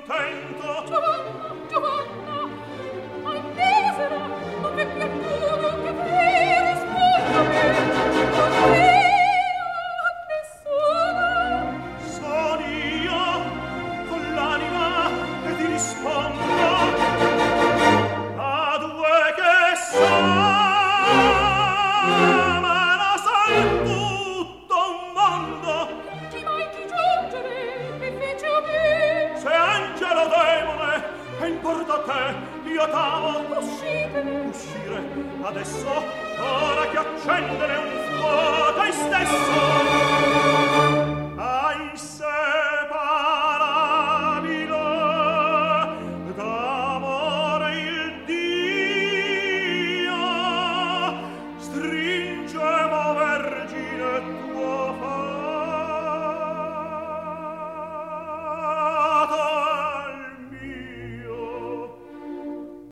contento. Giovanna, Giovanna, ai misera, non v'è piaciuto che te rispondami, non io, nessuno. Son io, con l'anima, e ti rispondo, a due che s'amano son tutto un mondo. Chi mai ti giungere, mi fece a me? Se angelo demone, e importa a te, io t'amo. Uscire, adesso, ora che accendere un fuoco stesso.